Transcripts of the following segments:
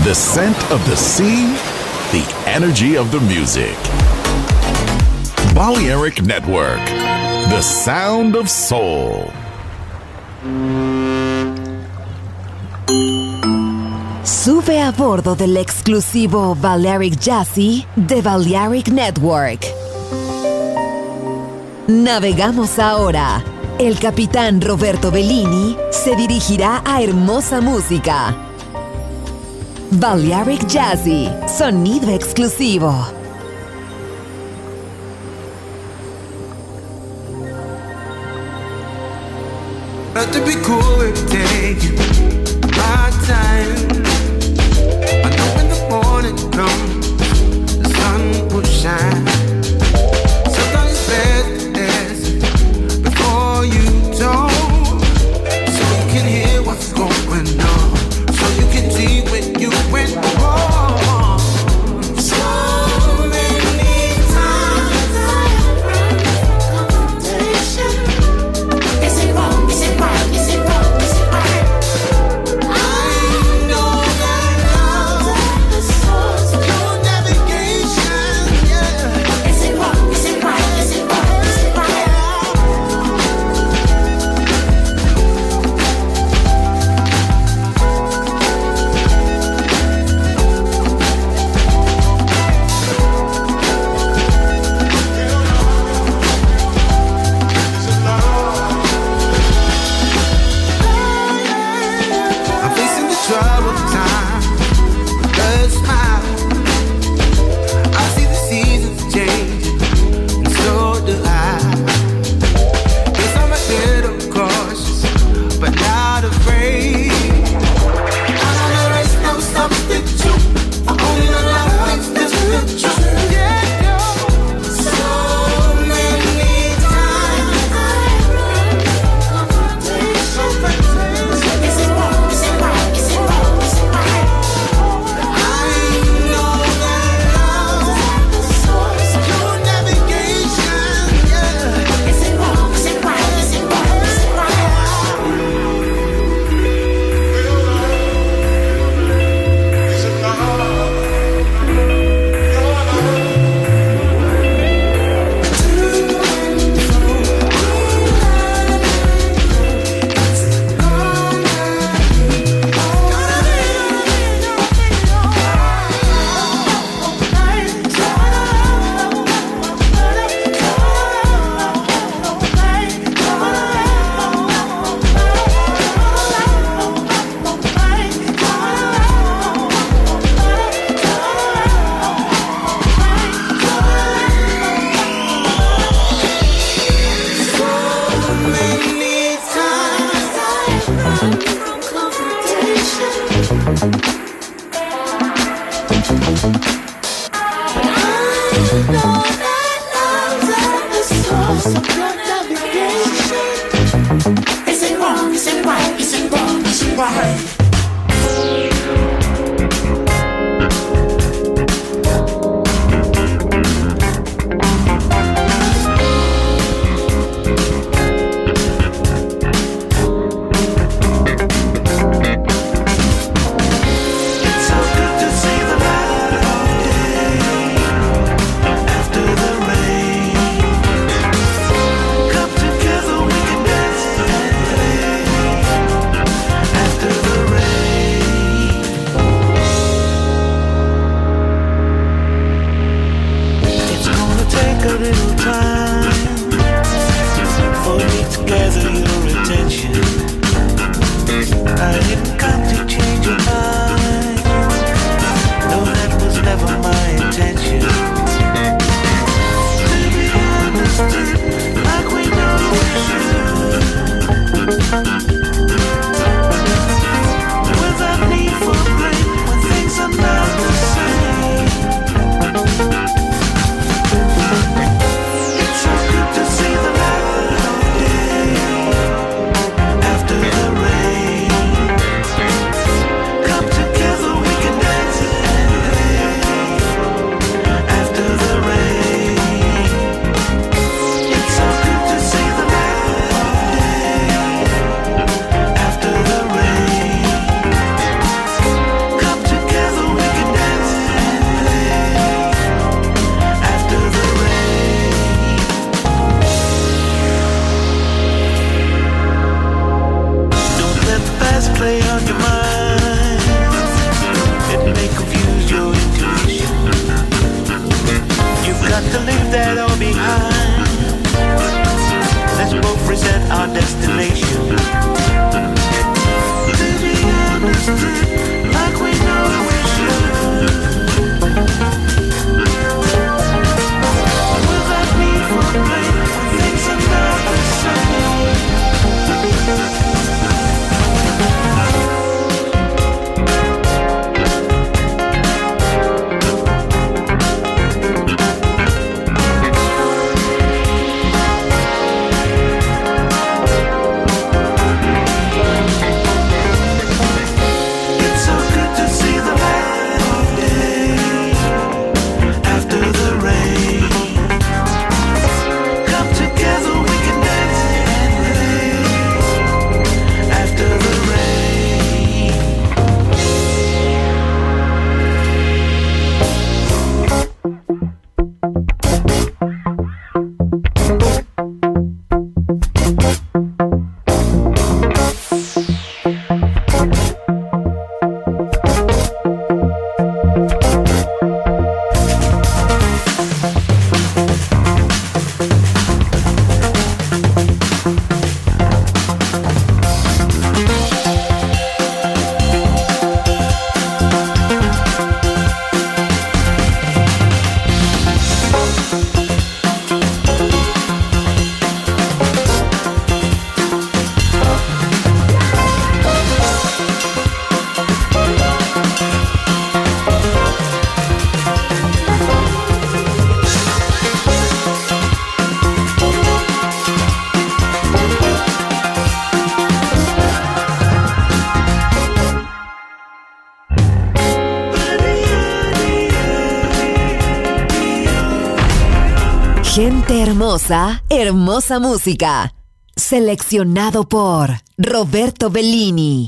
The scent of the sea, the energy of the music. Balearic Network, the sound of soul. Sube a bordo del exclusivo Balearic Jazzy de Balearic Network. Navegamos ahora. El capitán Roberto Bellini se dirigirá a hermosa música. Balearic Jazzy, sonido exclusivo. Not to be cool every day, my time. I know when the morning comes, the sun will shine. Sometimes it's best to dance before you talk, so you can hear what's going on, so you can see when you went wrong. So many times I have run from confrontation. Is it wrong? Is it right? Is it wrong? Is it right? I know that love is the source of your navigation. Yeah. Is it wrong? Is it right? Is it wrong? Is it right? I'm facing the troubled time with a smile. I see the seasons changing, and so do I. Guess I'm a little cautious, but not afraid. I know there is no substitute for owning a life that's the truth. Yeah, yo. So many times I run from confrontation. Is it wrong? Is it right? Is it wrong? Is it right? I know that love is the source of your navigation. Yeah. Is it wrong? Is it right? Is it wrong? Is it right? Many times I've run from confrontation. I know that love's the source of your navigation. Is it wrong? Is it right? Is it wrong? Is it right? It's so good to see the light of day after the rain. Come together, we can dance and play after the rain. It's gonna take a little time for me to gather your attention. I didn't come to change your mind. No, that was never my intention. To be understood like we know we should, without need for blame when things are not the same. It's so good to see the light of day after the rain. Come together, we can dance and play after the rain. It's so good to see the light of day. Gente hermosa, hermosa música. Seleccionado por Roberto Bellini.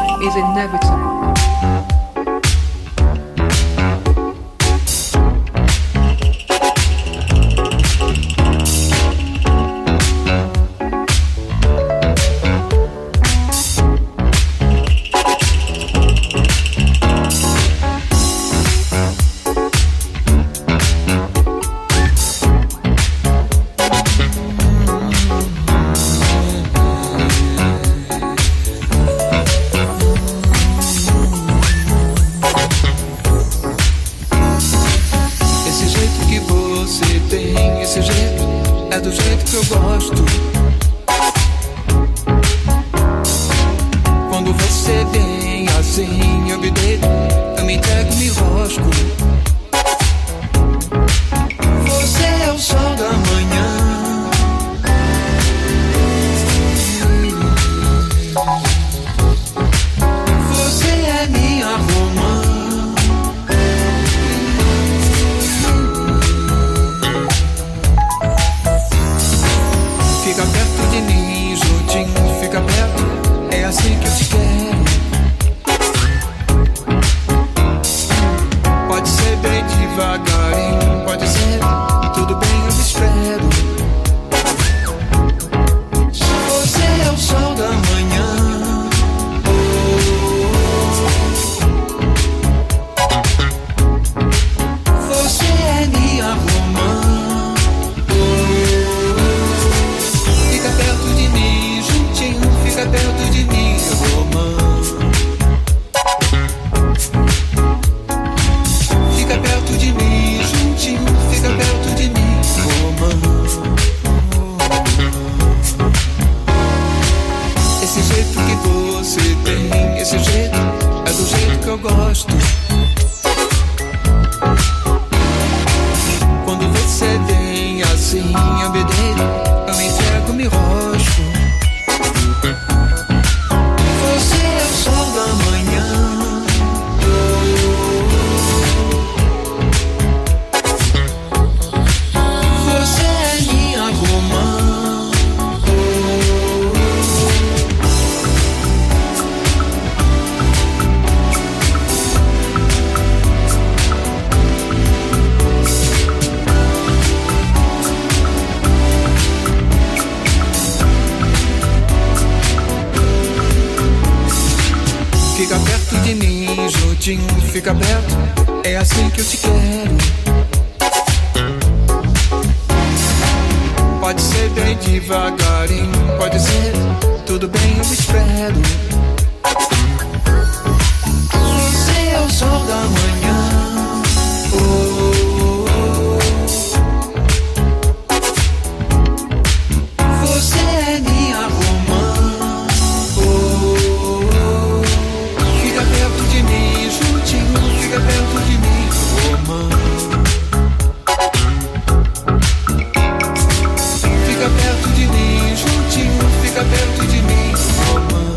life is inevitable. Fica perto, é assim que eu te quero. Pode ser bem devagarinho, pode ser, tudo bem, eu espero. Você é o sol da manhã. Você é minha romã. Fica perto de mim, juntinho, fica perto de mim, romã. Fica perto de mim, juntinho, fica perto de mim, romã.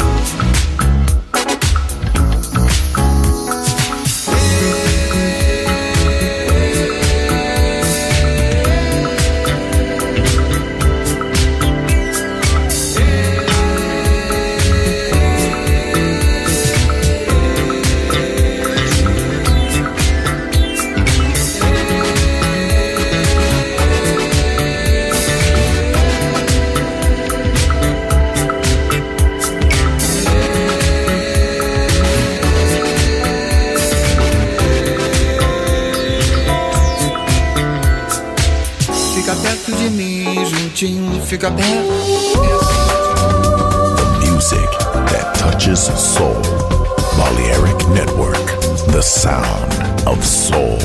Fica perto. The music that touches soul. Balearic Network, the sound of soul.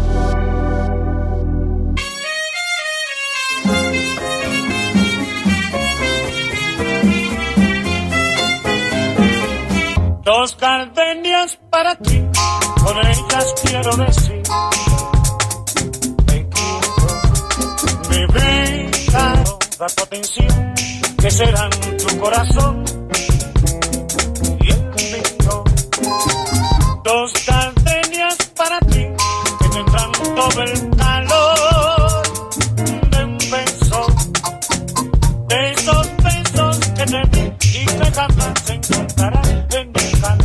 Dos gardenias para ti, con ellas quiero decir te quiero, mi vida. La potencia que será en tu corazón y el mío. Dos gardenias para ti que tendrán todo el calor de un beso, de esos besos que te di y que jamás encontrarás en mi canal.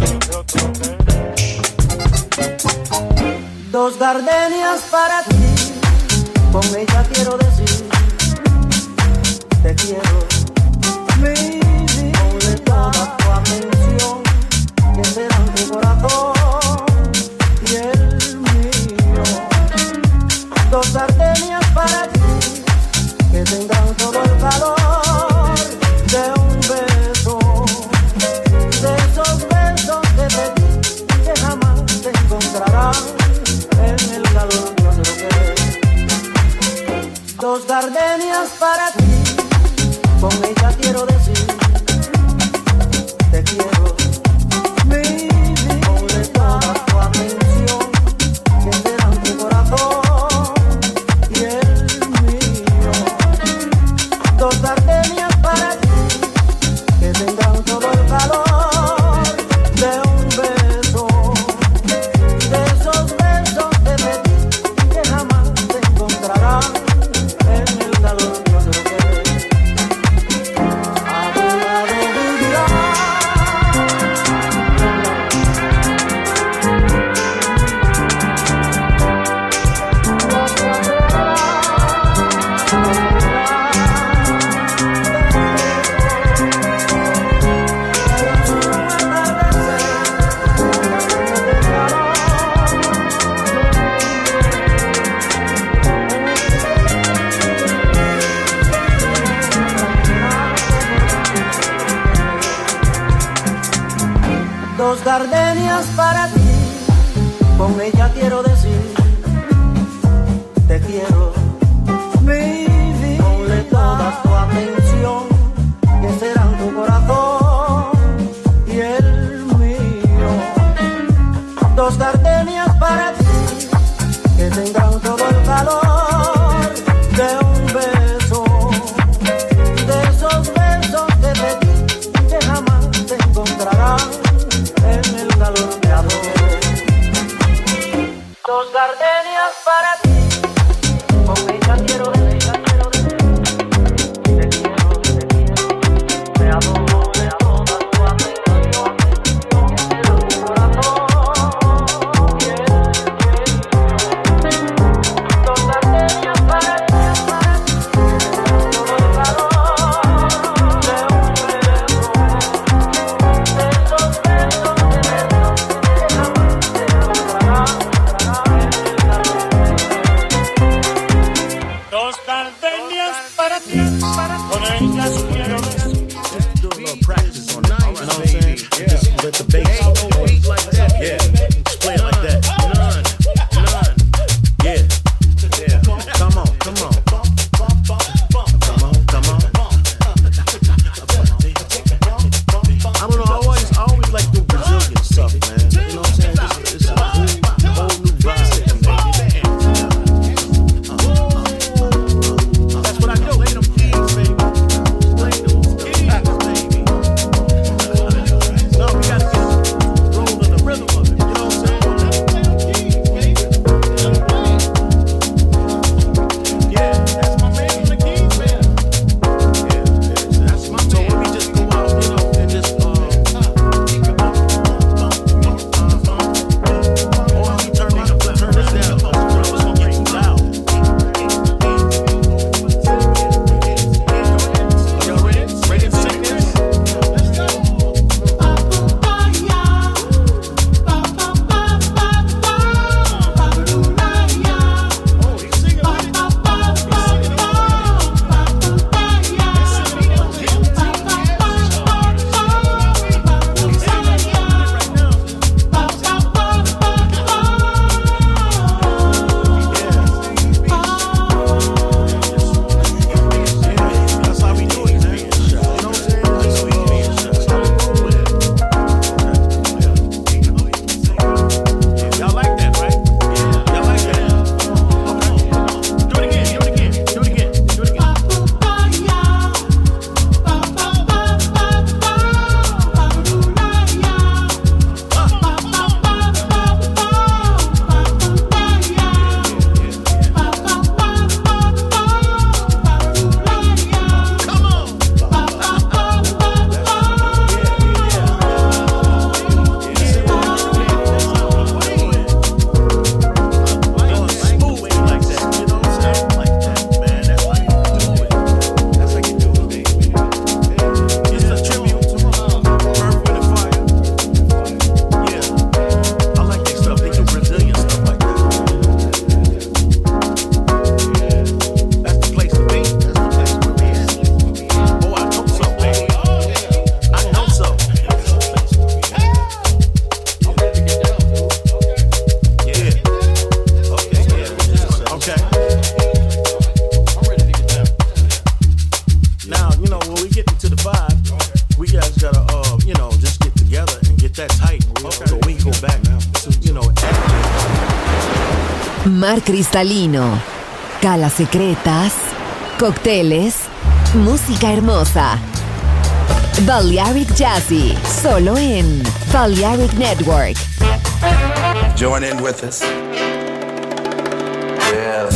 Dos gardenias para ti, con ella quiero decir, te quiero, mi vida, ponle toda tu atención, que serán tu corazón y el mío. Dos gardenias para ti, que tendrán todo el calor de un beso, de esos besos que te di, que jamás te encontrarán en el calor de otro querer. Dos gardenias para ti, con ella quiero decir, te quiero, mi vida, ponle toda tu atención, que serán tu corazón y el mío. Dos gardenias para ti, que tendrán todo el calor de un beso, de esos besos que te di, que jamás te encontrarán en el calor de otro querer. A tu lado vivirás. Dos gardenias para ti, con ella quiero decir, te quiero, mi vida, ponle toda tu atención, que serán tu corazón y el mío. Dos gardenias para ti, que tendrán todo el calor de un beso, de esos besos que te di, que jamás te encontrarán en el calor de amor. Dos gardenias para ti, con ella quiero decir, te quiero, te adoro, te adoro, tu atención, que será tu corazón y el mío. Dos gardenias para ti, todo el calor de un beso, de esos besos que te di, que jamás te encontrarán en el calor. night. Okay. So we can go back now. So, Mar cristalino, calas secretas, cócteles, música hermosa. Balearic Jazzy, solo en Balearic Network. Join in with us. Yeah.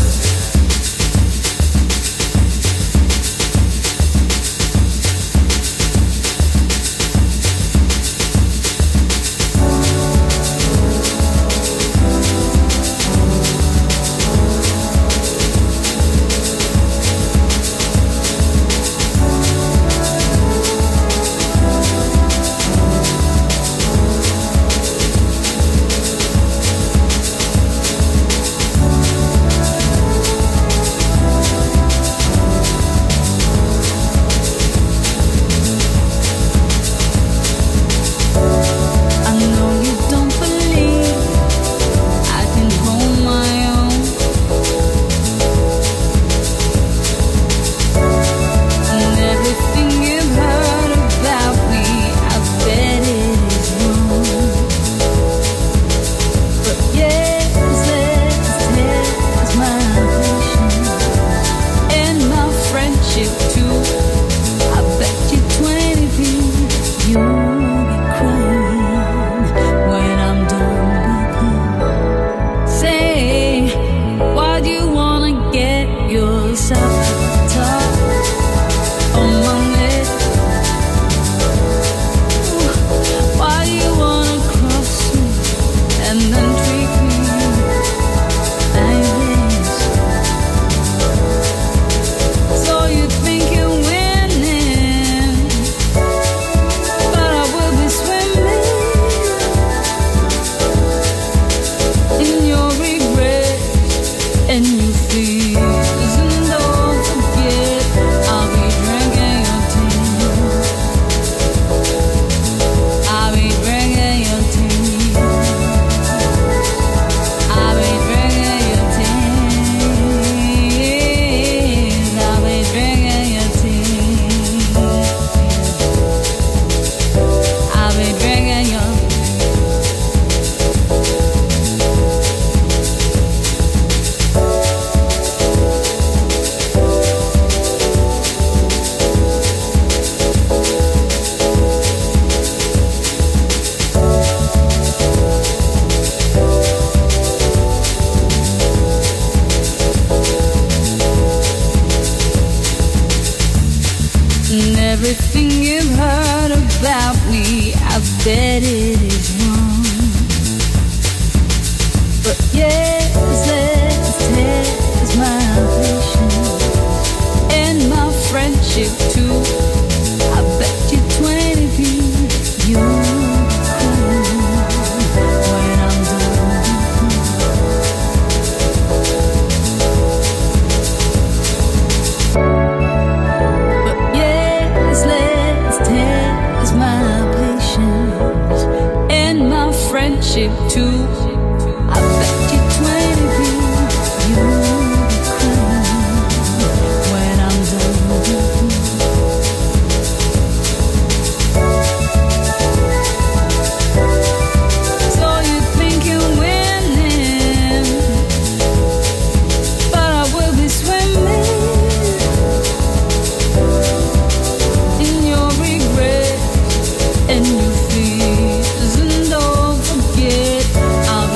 And you feel, and don't forget, I'll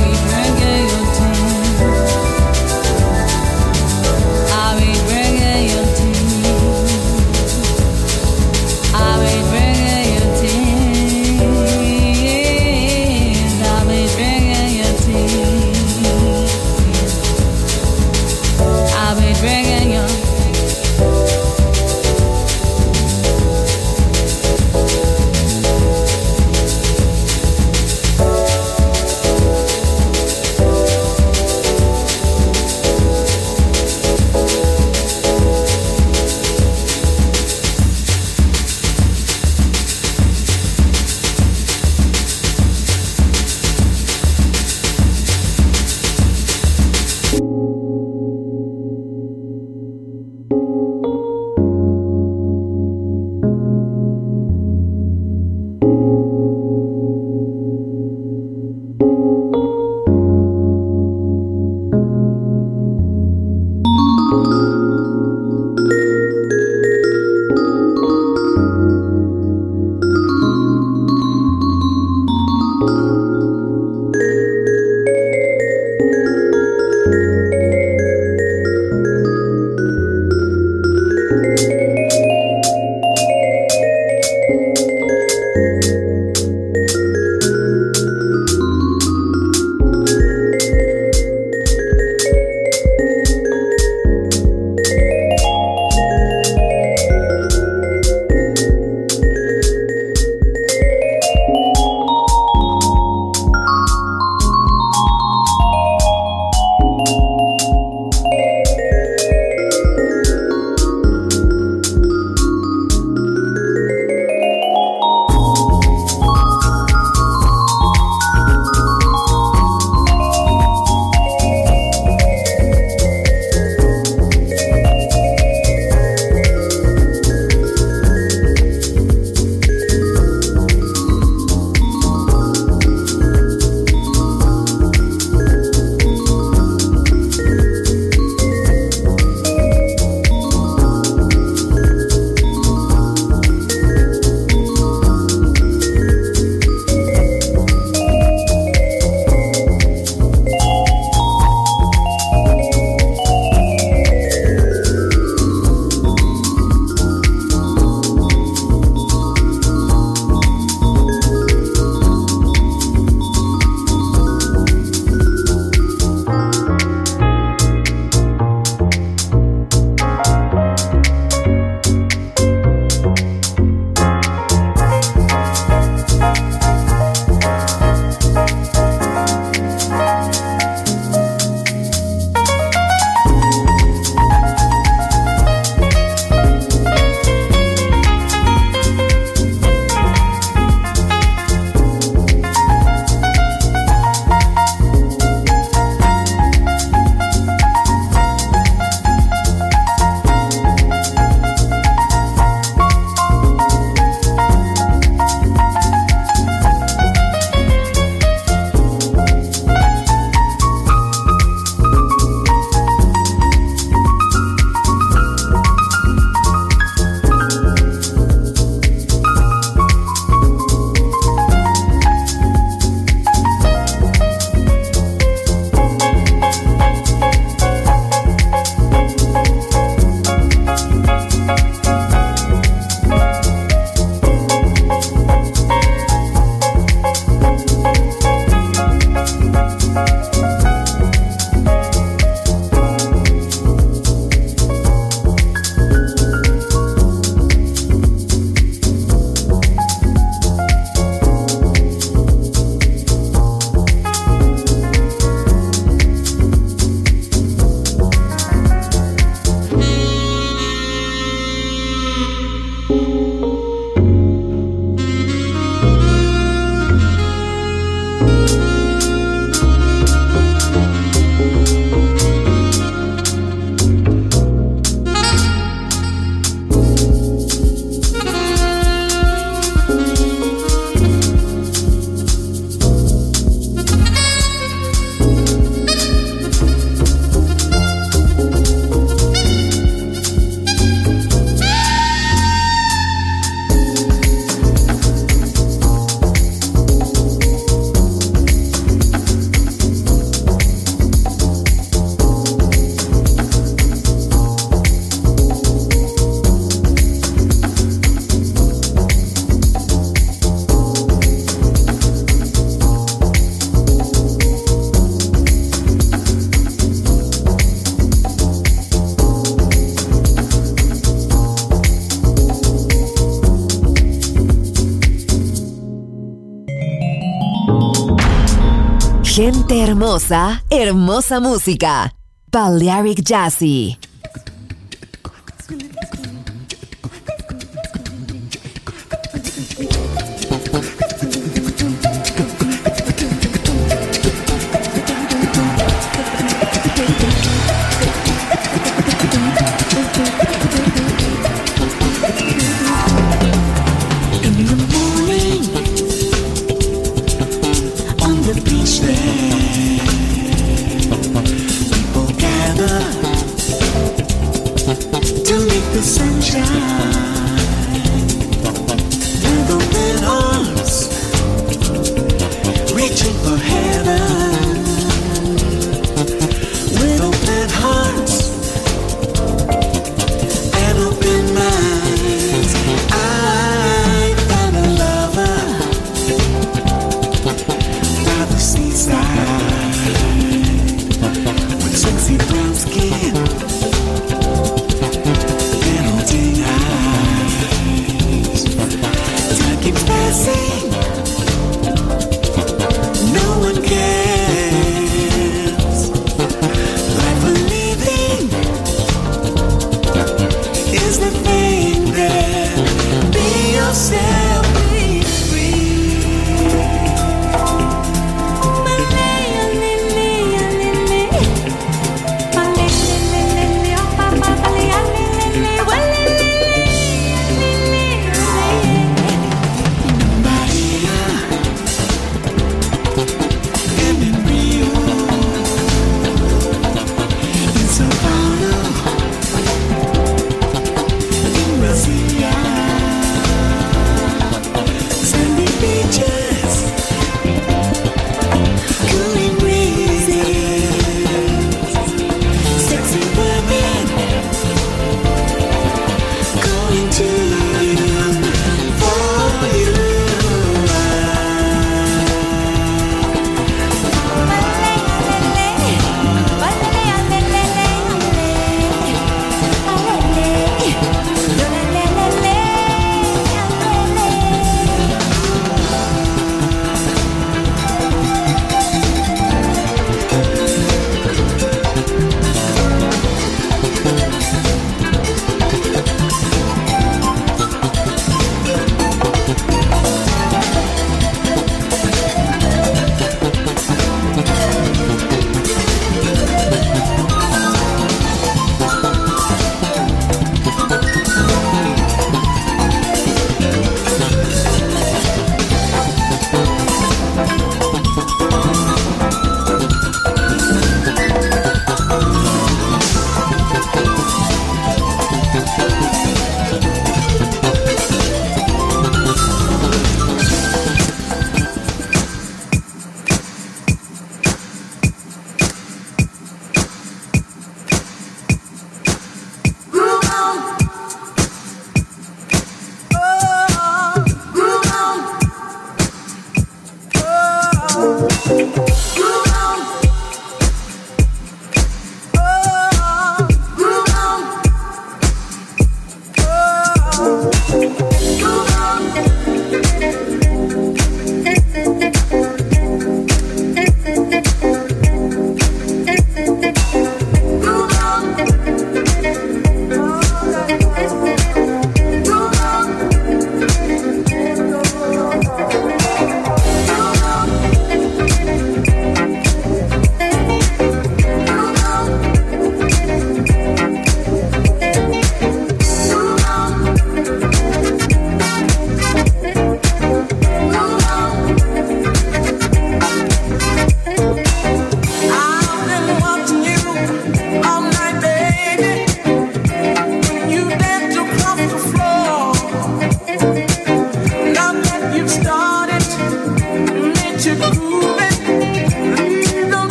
Gente hermosa, hermosa música. Balearic Jazzy.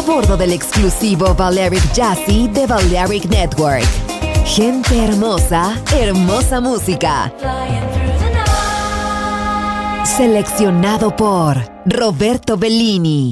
bordo del exclusivo Balearic Jazzy de Balearic Network. Gente hermosa, hermosa música. Seleccionado por Roberto Bellini.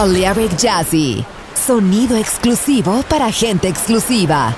Balearic Jazzy. Sonido exclusivo para gente exclusiva.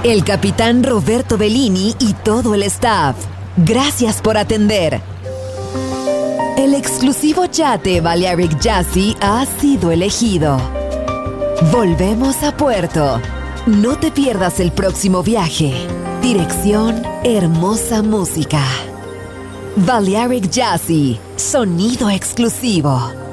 el capitán Roberto Bellini y todo el staff. Gracias por atender. El exclusivo yate Balearic Jazzy ha sido elegido. Volvemos a puerto. No te pierdas el próximo viaje. Dirección Hermosa Música. Balearic Jazzy, sonido exclusivo.